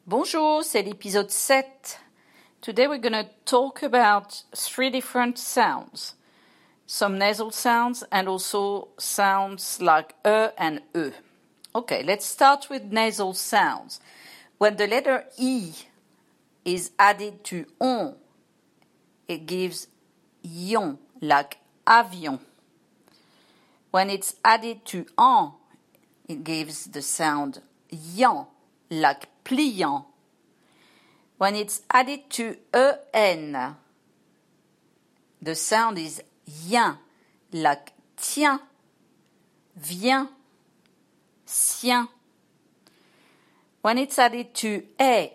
Bonjour, c'est l'épisode 7. Today we're going to talk about 3 different sounds. Some nasal sounds and also sounds like and e. Okay, let's start with nasal sounds. When the letter E is added to on, it gives ion, like avion. When it's added to en, it gives the sound yan, like pliant. When it's added to en, the sound is yen, like tiens, viens, sien. When it's added to ai,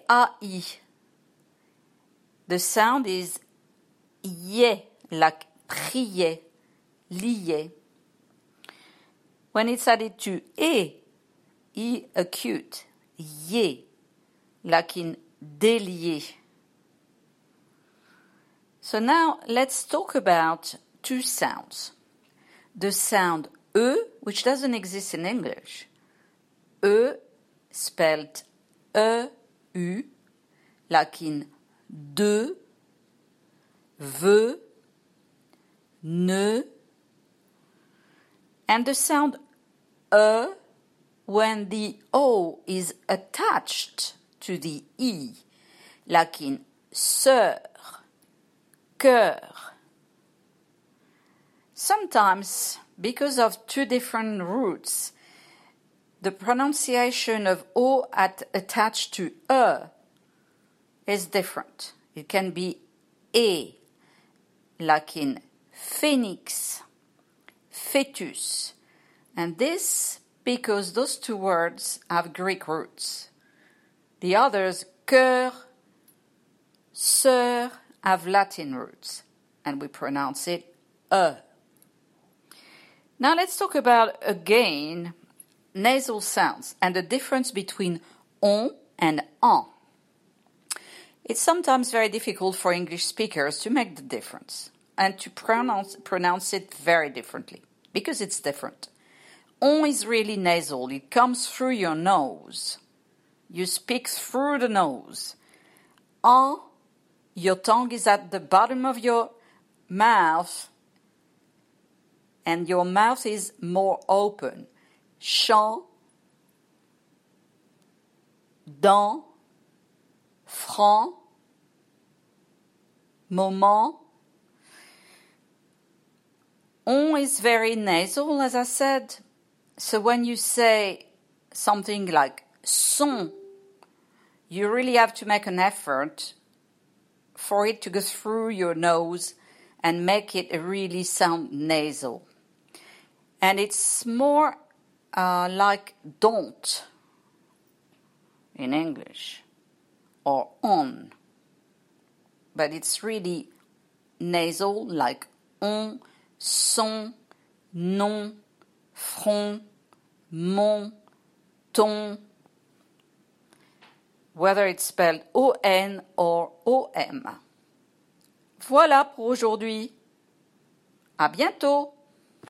the sound is yé, like prier, lier. When it's added to e acute, yé, like in délier. So now let's talk about 2 sounds. The sound e, which doesn't exist in English. E spelled e-u, like in de, veut, ne. And the sound when the O is attached to the E, like in sœur, cœur. Sometimes, because of 2 different roots, the pronunciation of O attached to is different. It can be E, like in phoenix, fetus, and this because those 2 words have Greek roots. The others, cœur, sœur, have Latin roots, and we pronounce it e. Now let's talk about, again, nasal sounds and the difference between on and en. It's sometimes very difficult for English speakers to make the difference and to pronounce it very differently, because it's different. On is really nasal. It comes through your nose. You speak through the nose. En, your tongue is at the bottom of your mouth, and your mouth is more open. Chant, dent, franc, moment. On is very nasal, as I said. So when you say something like son, you really have to make an effort for it to go through your nose and make it really sound nasal. And it's more like don't in English, or on. But it's really nasal, like on, son, non, front, mon, ton, whether it's spelled O-N or O-M. Voilà pour aujourd'hui. À bientôt!